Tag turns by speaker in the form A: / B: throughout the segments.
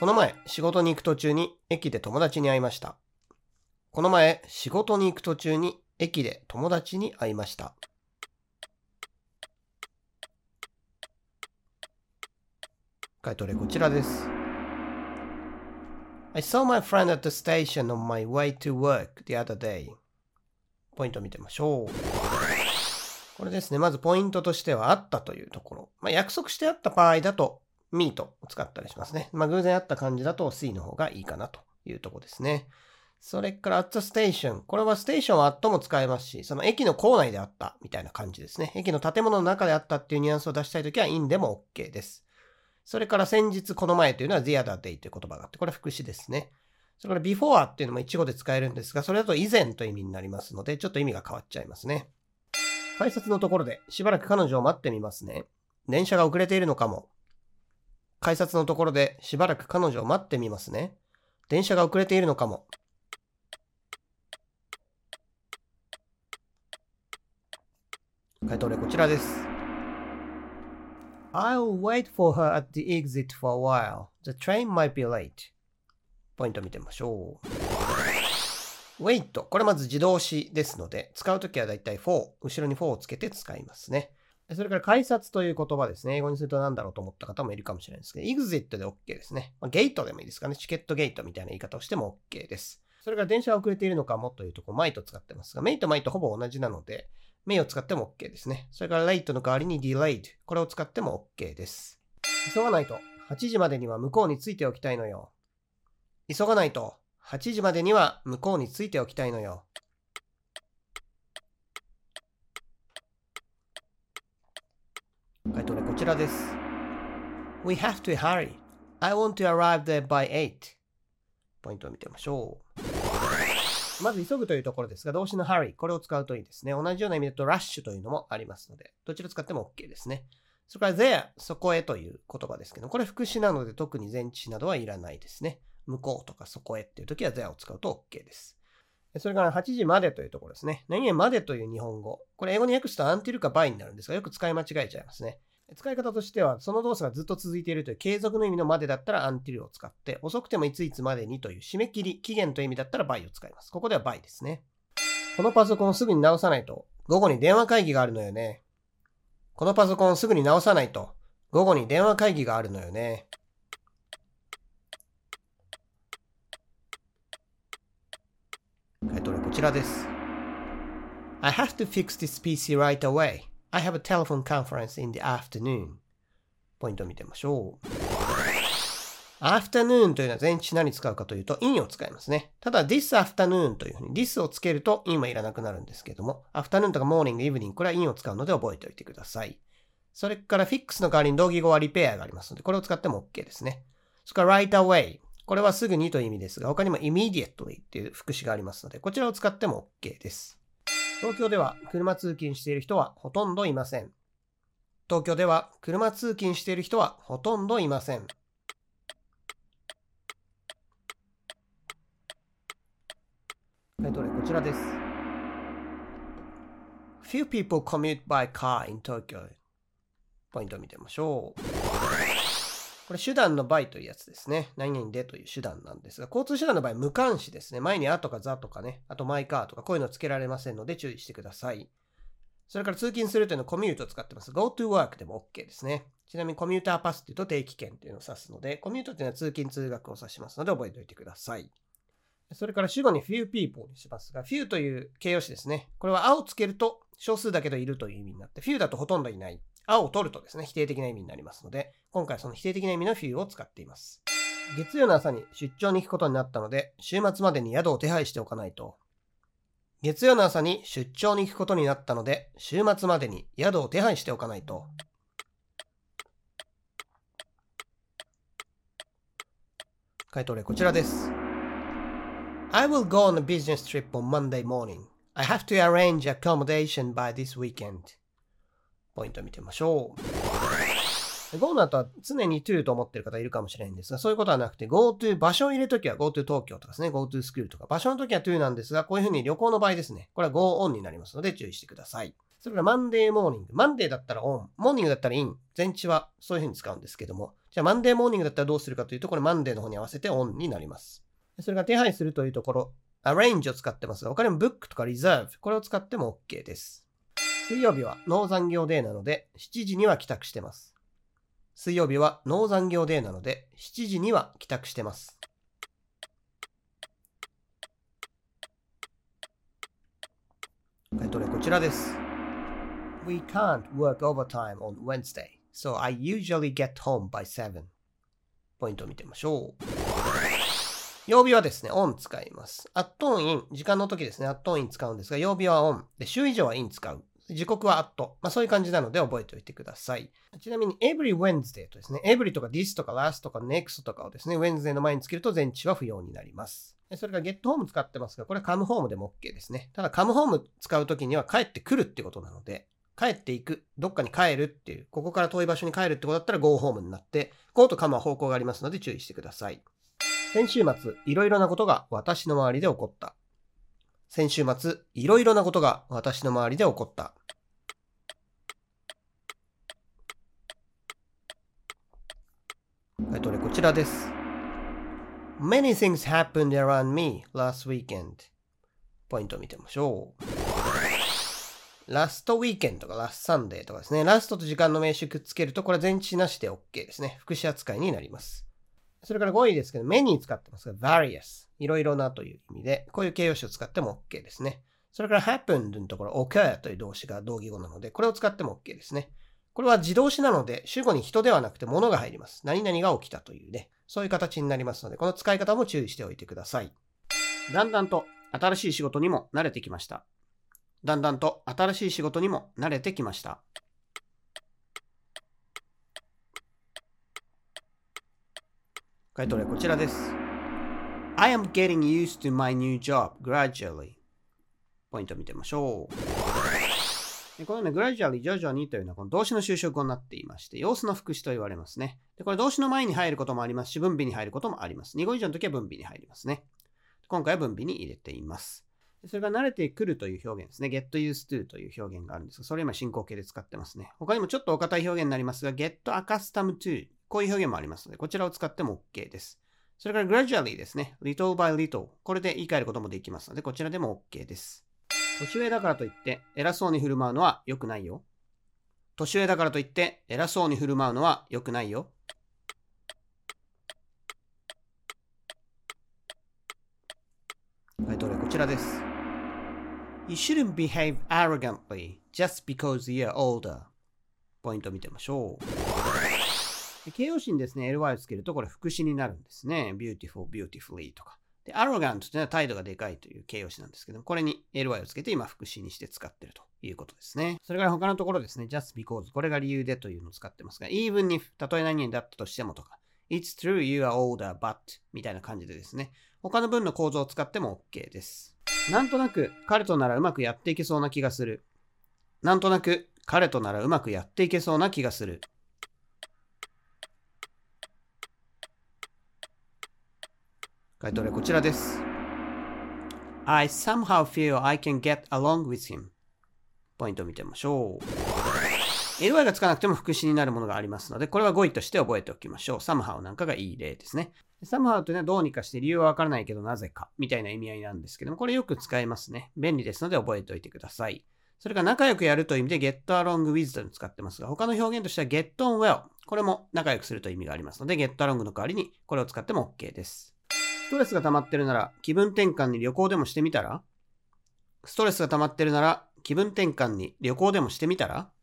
A: この前、仕事に行く途中に駅で友達に会いました。この前、仕事に行く途中に駅で友達に会いました。回答例こちらです。I saw my friend at the station on my way to work the other day. ポイントを見てみましょう。これですね。まずポイントとしてはあったというところ。約束してあった場合だと meet を使ったりしますね。偶然あった感じだと see の方がいいかなというところですね。それから at the station。これはステーションは at も使えますし、その駅の構内であったみたいな感じですね。駅の建物の中であったっていうニュアンスを出したいときは in でも OK です。それから先日この前というのは the other day という言葉があって、これは副詞ですね。それから before っていうのも一語で使えるんですが、それだと以前という意味になりますので、ちょっと意味が変わっちゃいますね。改札のところでしばらく彼女を待ってみますね。電車が遅れているのかも。改札のところでしばらく彼女を待ってみますね。電車が遅れているのかも。回答例こちらです。I'll wait for her at the exit for a while. The train might be late. ポイント見てみましょう。wait。これまず自動詞ですので、使うときはだいたい for。後ろに for をつけて使いますね。それから改札という言葉ですね。英語にすると何だろうと思った方もいるかもしれないですけど、exit で OK ですね。ゲートでもいいですかね。チケットゲートみたいな言い方をしても OK です。それから電車が遅れているのかもというところ、might 使ってますが、may と might ほぼ同じなので、may を使っても OK ですね。それから late の代わりに delayed。これを使っても OK です。急がないと8時までには向こうについておきたいのよ。急がないと8時までには向こうについておきたいのよ。回答例こちらです。We have to hurry. I want to arrive there by 8. ポイントを見てみましょう。まず急ぐというところですが、動詞の hurry。これを使うといいですね。同じような意味だと rush というのもありますので、どちら使っても OK ですね。それから there、そこへという言葉ですけど、これ副詞なので特に前置詞などはいらないですね。向こうとかそこへっていう時は there を使うと OK です。それから8時までというところですね。何々までという日本語。これ英語に訳すと until か by になるんですが、よく使い間違えちゃいますね。使い方としては、その動作がずっと続いているという継続の意味のまでだったら until を使って、遅くてもいついつまでにという締め切り、期限という意味だったら by を使います。ここでは by ですね。このパソコンをすぐに直さないと、午後に電話会議があるのよね。このパソコンをすぐに直さないと、午後に電話会議があるのよね。回答例こちらです。I have to fix this PC right away. I have a telephone conference in the afternoon. ポイントを見てみましょう。afternoon というのは前置詞何使うかというと in を使いますね。ただ this afternoon というふうに this をつけると in はいらなくなるんですけども afternoon とか morning、evening これは in を使うので覚えておいてください。それから fix の代わりに同義語は repair がありますのでこれを使っても OK ですね。それから right away これはすぐにという意味ですが他にも immediately っていう副詞がありますのでこちらを使っても OK です。東京では車通勤している人はほとんどいません。東京では車通勤している人はほとんどいません。回答例こちらです。Few people commute by car in Tokyo. ポイントを見てみましょう。これ手段の by というやつですね。何々でという手段なんですが、交通手段の場合無冠詞ですね。前にあとかざとかね、あとマイカーとかこういうのつけられませんので注意してください。それから通勤するというのはコミュートを使ってます。Go to work でも OK ですね。ちなみにコミューターパスというと定期券というのを指すので、コミュートというのは通勤通学を指しますので覚えておいてください。それから主語に few people にしますが、few という形容詞ですね。これはあをつけると少数だけどいるという意味になって、few だとほとんどいない。あを取るとですね、否定的な意味になりますので、今回その否定的な意味の few を使っています。月曜の朝に出張に行くことになったので、週末までに宿を手配しておかないと。月曜の朝に出張に行くことになったので、週末までに宿を手配しておかないと。回答例こちらです。I will go on a business trip on Monday morning. I have to arrange accommodation by this weekend. ポイントを見てみましょう。Go の後は常に to と思っている方いるかもしれないんですが、そういうことはなくて Go to 場所を入れるときは Go to 東京とかですね、Go to school とか場所のときは to なんですが、こういうふうに旅行の場合ですね、これは Go on になりますので注意してください。 それからマンデーモーニング。マンデーだったらオン。モーニングだったらイン。前置はそういう風に使うんですけども。じゃあマンデーモーニングだったらどうするかというと、これマンデーの方に合わせてオンになります。それから手配するというところ、arrange を使ってますが、他にも book とか reserve。これを使っても OK です。水曜日はノー残業デーなので、7時には帰宅してます。水曜日はノー残業デーなので、7時には帰宅してます。回答例こちらです。We can't work overtime on Wednesday, so I usually get home by 7. ポイントを見てみましょう。曜日はですね、on 使います。at on in、時間の時ですね、at on in 使うんですが、曜日は on。で、週以上は in 使う。時刻は at。そういう感じなので覚えておいてください。ちなみに every Wednesday とですね、every とか this とか last とか next とかをですね、Wednesday の前につけると前置は不要になります。それから get home 使ってますが、これ come home でも OK ですね。ただ come home 使うときには帰ってくるってことなので、帰っていく、どっかに帰るっていう、ここから遠い場所に帰るってことだったら go home になって、go と come は方向がありますので注意してください。先週末、いろいろなことが私の周りで起こった。先週末、いろいろなことが私の周りで起こった。回答例こちらです。Many things happened around me last weekend. ポイントを見てみましょう。ラストウィーケンドとかラストサンデーとかですね。ラストと時間の名詞くっつけるとこれは前置詞なしで OK ですね。副詞扱いになります。それから5位ですけど、many 使ってますが、various。いろいろなという意味で、こういう形容詞を使っても OK ですね。それから happened のところ、occur という動詞が同義語なので、これを使っても OK ですね。これは自動詞なので、主語に人ではなくて物が入ります。何々が起きたというね、そういう形になりますので、この使い方も注意しておいてください。だんだんと新しい仕事にも慣れてきました。だんだんと新しい仕事にも慣れてきました。回答例こちらです。I am getting used to my new job gradually. ポイントを見てみましょう。このね、gradually 徐々にというのはこの動詞の修飾語になっていまして、様子の副詞と言われますね。で、これ動詞の前に入ることもありますし、分尾に入ることもあります。2語以上の時は分尾に入りますね。今回は分尾に入れています。それが慣れてくるという表現ですね。get used to という表現があるんですが、それ今進行形で使ってますね。他にもちょっとお堅い表現になりますが、get accustomed to こういう表現もありますので、こちらを使っても OK です。それから gradually ですね。little by little これで言い換えることもできますので、こちらでも OK です。年上だからといって偉そうに振る舞うのは良くないよ。年上だからといって偉そうに振る舞うのは良くないよ。回答例こちらです。You shouldn't behave arrogantly just because you're older. ポイントを見てみましょう。形容詞にですね、ly をつけるとこれ副詞になるんですね。beautiful, beautifully とか。で、arrogant というのは態度がでかいという形容詞なんですけど、これに ly をつけて今副詞にして使っているということですね。それから他のところですね、just because これが理由でというのを使ってますが、even if たとえ何々だったとしてもとか、it's true you are older but みたいな感じでですね、他の文の構造を使っても OK です。なんとなく彼とならうまくやっていけそうな気がする。なんとなく彼とならうまくやっていけそうな気がする。回答例こちらです。I somehow feel I can get along with him. ポイントを見てみましょう。ly がつかなくても副詞になるものがありますので、これは語彙として覚えておきましょう。somehow なんかがいい例ですね。somehow というのはどうにかして理由はわからないけどなぜかみたいな意味合いなんですけども、これよく使えますね。便利ですので覚えておいてください。それから仲良くやるという意味で get along with というのを使ってますが、他の表現としては get on well。これも仲良くするという意味がありますので、get along の代わりにこれを使っても OK です。ストレスが溜まってるなら気分転換に旅行でもしてみたら？ストレスが溜まってるなら気分転換に旅行でもしてみたら？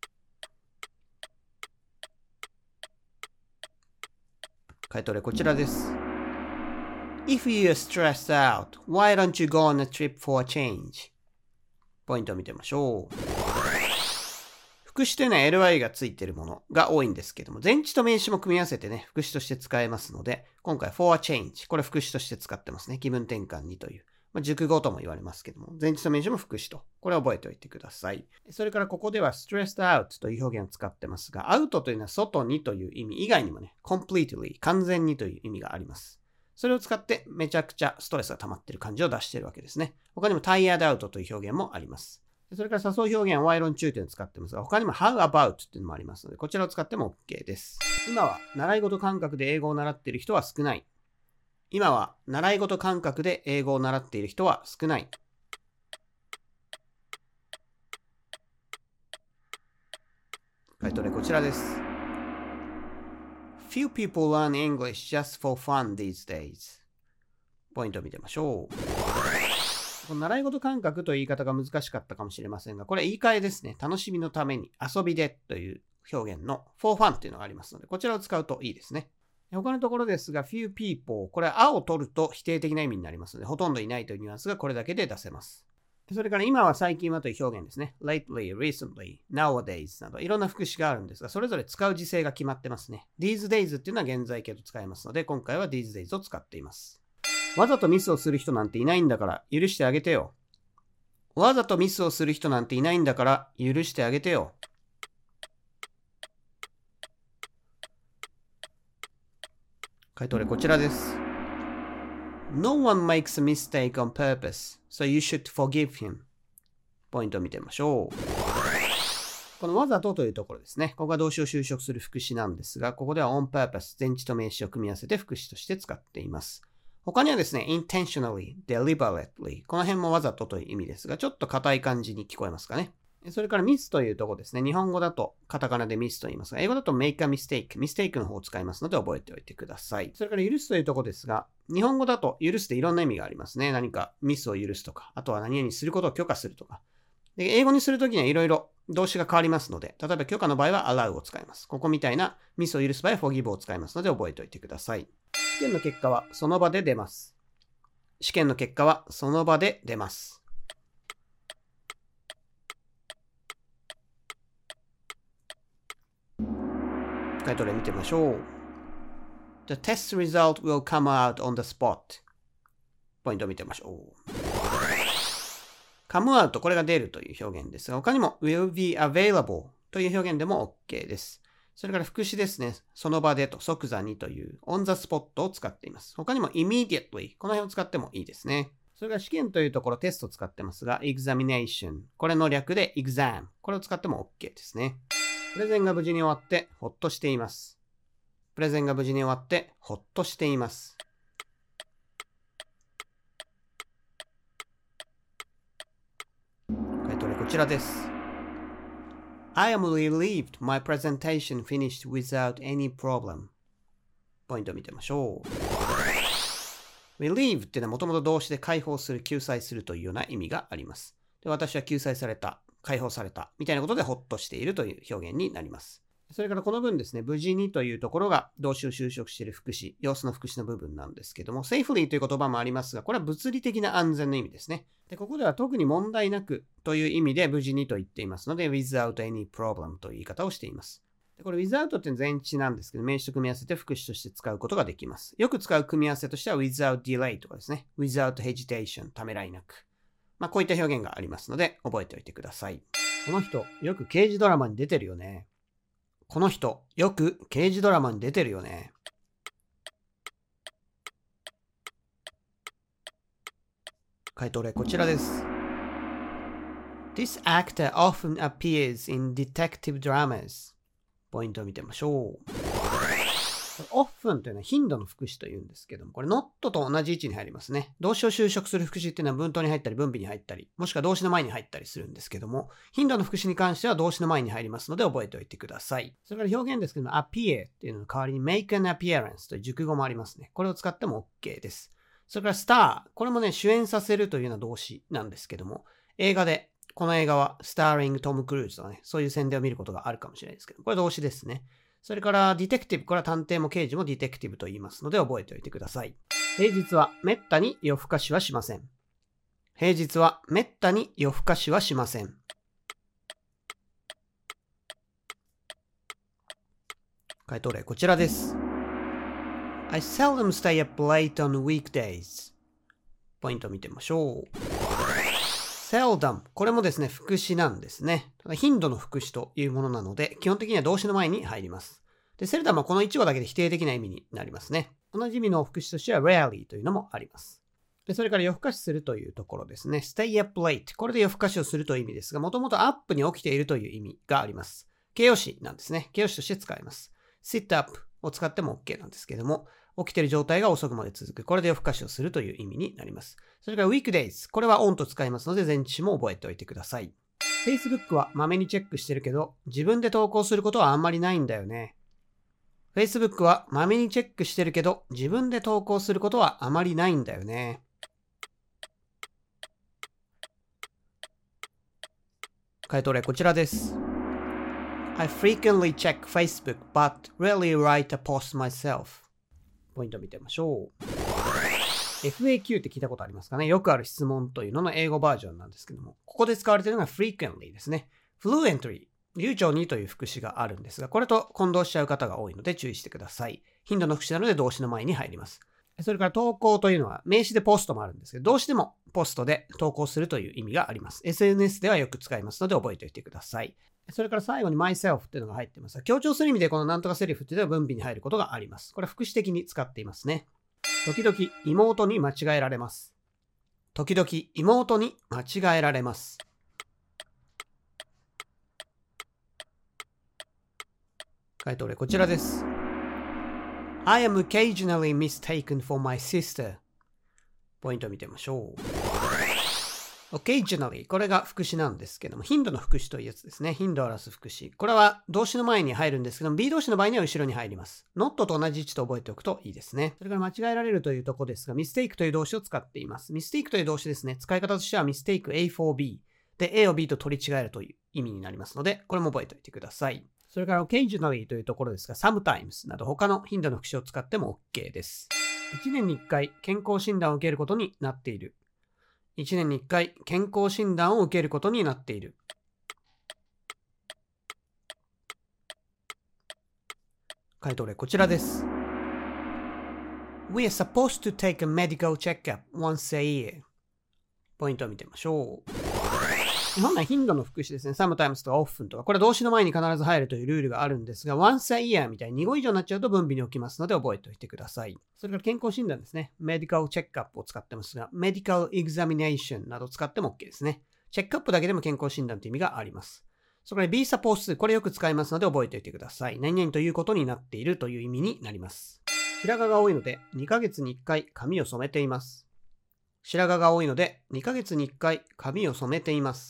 A: 回答例こちらです。If you are stressed out, why don't you go on a trip for a change? ポイントを見てみましょう。副詞というのは ly がついているものが多いんですけども、前置と名詞も組み合わせてね、副詞として使えますので、今回 for a change、これ副詞として使ってますね。気分転換にという。熟語とも言われますけども、前置と名詞も副詞と。これを覚えておいてください。それからここでは stressed out という表現を使ってますが、out というのは外にという意味以外にもね、completely 完全にという意味があります。それを使ってめちゃくちゃストレスが溜まっている感じを出しているわけですね。他にも tired out という表現もあります。 それから誘う表現は while on 中というのを使ってますが、他にも how about っていうのもありますので、こちらを使っても OK です。今は習い事感覚で英語を習っている人は少ない。今は習い事感覚で英語を習っている人は少ない。回答例こちらです。Few people learn English just for fun these days. ポイントを見てみましょう。この習い事感覚という言い方が難しかったかもしれませんが、これ言い換えですね。楽しみのために、遊びでという表現の for fun というのがありますので、こちらを使うといいですね。他のところですが、few people、これはあを取ると否定的な意味になりますので、ほとんどいないというニュアンスがこれだけで出せます。それから今は最近はという表現ですね。lately, recently, nowadays などいろんな副詞があるんですが、それぞれ使う時制が決まってますね。these days っていうのは現在形と使えますので、今回は these days を使っています。わざとミスをする人なんていないんだから許してあげてよ。わざとミスをする人なんていないんだから許してあげてよ。回答例こちらです。No one makes a mistake on purpose, so you should forgive him. ポイントを見てみましょう。このわざとというところですね。ここが動詞を修飾する副詞なんですが、ここでは on purpose、前置と名詞を組み合わせて副詞として使っています。他にはですね、intentionally, deliberately、この辺もわざとという意味ですが、ちょっと硬い感じに聞こえますかね。それからミスというところですね。日本語だとカタカナでミスと言いますが、英語だと make a mistake、ミステイクの方を使いますので覚えておいてください。それから許すというところですが、日本語だと許すでいろんな意味がありますね。何かミスを許すとか、あとは何々することを許可するとか。で英語にするときにはいろいろ動詞が変わりますので、例えば許可の場合は allow を使います。ここみたいなミスを許す場合は forgive を使いますので覚えておいてください。試験の結果はその場で出ます。試験の結果はその場で出ます。回答例見てみましょう。The test result will come out on the spot. ポイントを見てみましょう。come out、これが出るという表現ですが、他にも will be available という表現でも OK です。それから副詞ですね。その場でと即座にという on the spot を使っています。他にも immediately、この辺を使ってもいいですね。それから試験というところテストを使ってますが、examination、これの略で exam、これを使っても OK ですね。プレゼンが無事に終わってほっとしています。プレゼンが無事に終わってほっとしています。回答例こちらです。I am relieved my presentation finished without any problem. ポイントを見てみましょう。relieve っていうのはもともと動詞で解放する、救済するというような意味があります。で、私は救済された、解放されたみたいなことでほっとしているという表現になります。それからこの文ですね、無事にというところが動詞を修飾している副詞、様子の副詞の部分なんですけども、safely という言葉もありますが、これは物理的な安全の意味ですね。で、ここでは特に問題なくという意味で無事にと言っていますので、without any problem という言い方をしています。でこれ without っていうのは前置詞なんですけど、名詞と組み合わせて副詞として使うことができます。よく使う組み合わせとしては without delay とかですね、without hesitation、ためらいなく。こういった表現がありますので、覚えておいてください。この人、よく刑事ドラマに出てるよね。この人、よく刑事ドラマに出てるよね。回答例こちらです。This actor often appears in detective dramas. ポイントを見てみましょう。often というのは頻度の副詞というんですけども、これ not と同じ位置に入りますね。動詞を修飾する副詞っていうのは文頭に入ったり分尾に入ったり、もしくは動詞の前に入ったりするんですけども、頻度の副詞に関しては動詞の前に入りますので覚えておいてください。それから表現ですけども、appear っていうのの代わりに make an appearance という熟語もありますね。これを使っても OK です。それから star、これもね、主演させるというような動詞なんですけども、映画で、この映画はスターリングトム・クルーズとかね、そういう宣伝を見ることがあるかもしれないですけど、これ動詞ですね。それからディテクティブ、これは探偵も刑事もディテクティブと言いますので覚えておいてください。平日はめったに夜更かしはしません。平日はめったに夜更かしはしません。回答例こちらです。I seldom stay up late on weekdays. ポイントを見てみましょう。seldom、これもですね、副詞なんですね。ただ頻度の副詞というものなので、基本的には動詞の前に入ります。で、seldomはこの一語だけで否定的な意味になりますね。同じ意味の副詞としては rarely というのもあります。 それから夜更かしするというところですね。stay up late。これで夜更かしをするという意味ですが、もともとアップに起きているという意味があります。形容詞なんですね。形容詞として使います。sit up を使っても OK なんですけども、起きている状態が遅くまで続く。これで夜更かしをするという意味になります。それから weekdays。これは on と使いますので、前置詞も覚えておいてください。Facebook はまめにチェックしてるけど、自分で投稿することはあんまりないんだよね。Facebook はまめにチェックしてるけど、自分で投稿することはあまりないんだよね。回答例こちらです。I frequently check Facebook, but rarely write a post myself. ポイントを見てみましょう。FAQ って聞いたことありますかね。よくある質問というのの英語バージョンなんですけども、ここで使われているのが frequently ですね。fluently、流暢にという副詞があるんですが、これと混同しちゃう方が多いので注意してください。頻度の副詞なので動詞の前に入ります。それから投稿というのは名詞でポストもあるんですけど、動詞でもポストで投稿するという意味があります。SNS ではよく使いますので覚えておいてください。それから最後に myself っていうのが入っていますが、強調する意味でこのなんとかセリフっていうのは文尾に入ることがあります。これは副詞的に使っていますね。時々妹に間違えられます。時々妹に間違えられます。回答例こちらです。I am occasionally mistaken for my sister. ポイントを見てみましょう。occasionally これが副詞なんですけども、頻度の副詞というやつですね。頻度を表す副詞。これは動詞の前に入るんですけども、B 動詞の場合には後ろに入ります。not と同じ位置と覚えておくといいですね。それから間違えられるというところですが、mistake という動詞を使っています。mistake という動詞ですね。使い方としては mistake A for B で A を B と取り違えるという意味になりますので、これも覚えておいてください。それから occasionally というところですが、sometimes など他の頻度の副詞を使っても OK です。1年に1回健康診断を受けることになっている。1年に1回健康診断を受けることになっている。回答例こちらです。We are supposed to take a medical checkup once a year. ポイントを見てみましょう。本来頻度の副詞ですね。sometimes とか often とか、これ動詞の前に必ず入るというルールがあるんですが、once a year みたいに2語以上になっちゃうと分尾に置きますので覚えておいてください。それから健康診断ですね。medical checkup を使ってますが、medical examination など使っても OK ですね。チェックアップだけでも健康診断という意味があります。それから be supposed to これよく使いますので覚えておいてください。何々ということになっているという意味になります。白髪が多いので2ヶ月に1回髪を染めています。白髪が多いので2ヶ月に1回髪を染めています。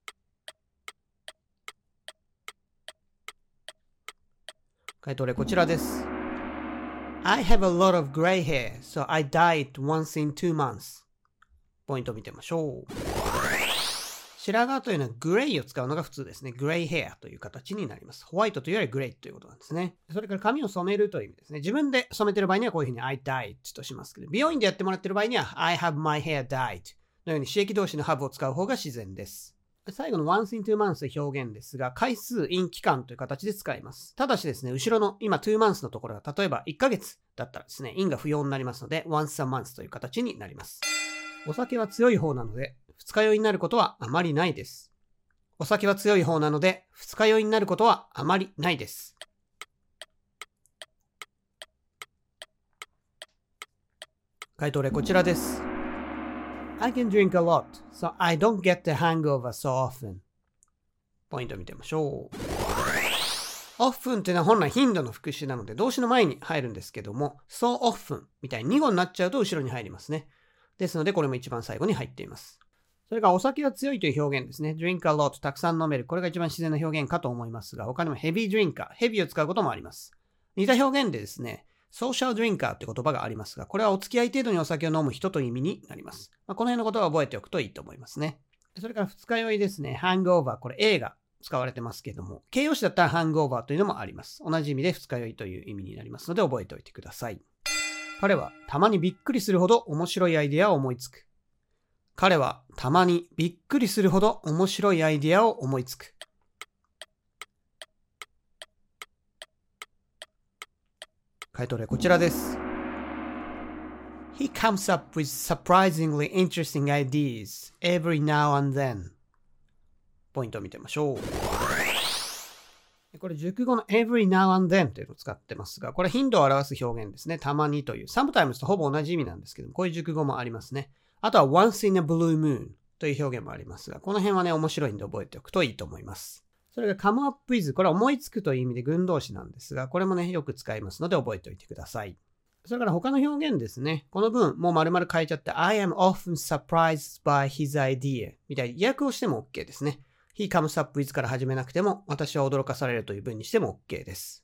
A: 回答例こちらです。I have a lot of gray hair, so I dye it once in 2 months. ポイントを見てみましょう。白髪というのはグレイを使うのが普通ですね。グレイヘアという形になります。ホワイトというよりグレイということなんですね。それから髪を染めるという意味ですね。自分で染めている場合にはこういうふうに I dyed としますけど、美容院でやってもらっている場合には I have my hair dyed のように刺激動詞の have を使う方が自然です。最後の once in 2 months の表現ですが、回数 in 期間という形で使います。ただしですね、後ろの今2 months のところが例えば1ヶ月だったらですね、in が不要になりますので once a month という形になります。お酒は強い方なので二日酔いになることはあまりないです。お酒は強い方なので二日酔いになることはあまりないです。回答例こちらです。I can drink a lot, so I don't get the hangover so often. ポイントを見てみましょう。often っていうのは本来頻度の副詞なので動詞の前に入るんですけども、so often みたいに2語になっちゃうと後ろに入りますね。ですのでこれも一番最後に入っています。それからお酒が強いという表現ですね。drink a lot たくさん飲める。これが一番自然な表現かと思いますが、他にも heavy drinker、ヘビーを使うこともあります。似た表現でですね、social drinker って言葉がありますが、これはお付き合い程度にお酒を飲む人という意味になります。この辺のことは覚えておくといいと思いますね。それから二日酔いですね。hangover、これ A が使われてますけども、形容詞だったら hangover というのもあります。同じ意味で二日酔いという意味になりますので覚えておいてください。彼はたまにびっくりするほど面白いアイデアを思いつく。彼はたまにびっくりするほど面白いアイデアを思いつく。回答例こちらです。He comes up with surprisingly interesting ideas every now and then. ポイントを見てみましょう。ここれ熟語の every now and then というのを使ってますが、これ頻度を表す表現ですね。たまにという。sometimes とほぼ同じ意味なんですけども、こういう熟語もありますね。あとは once in a blue moon という表現もありますが、この辺はね、面白いんで覚えておくといいと思います。それが come up with、これは思いつくという意味で群動詞なんですが、これもね、よく使いますので覚えておいてください。それから他の表現ですね。この文、もう丸々変えちゃって、I am often surprised by his idea みたいに訳をしても OK ですね。He comes up with から始めなくても、私は驚かされるという文にしても OK です。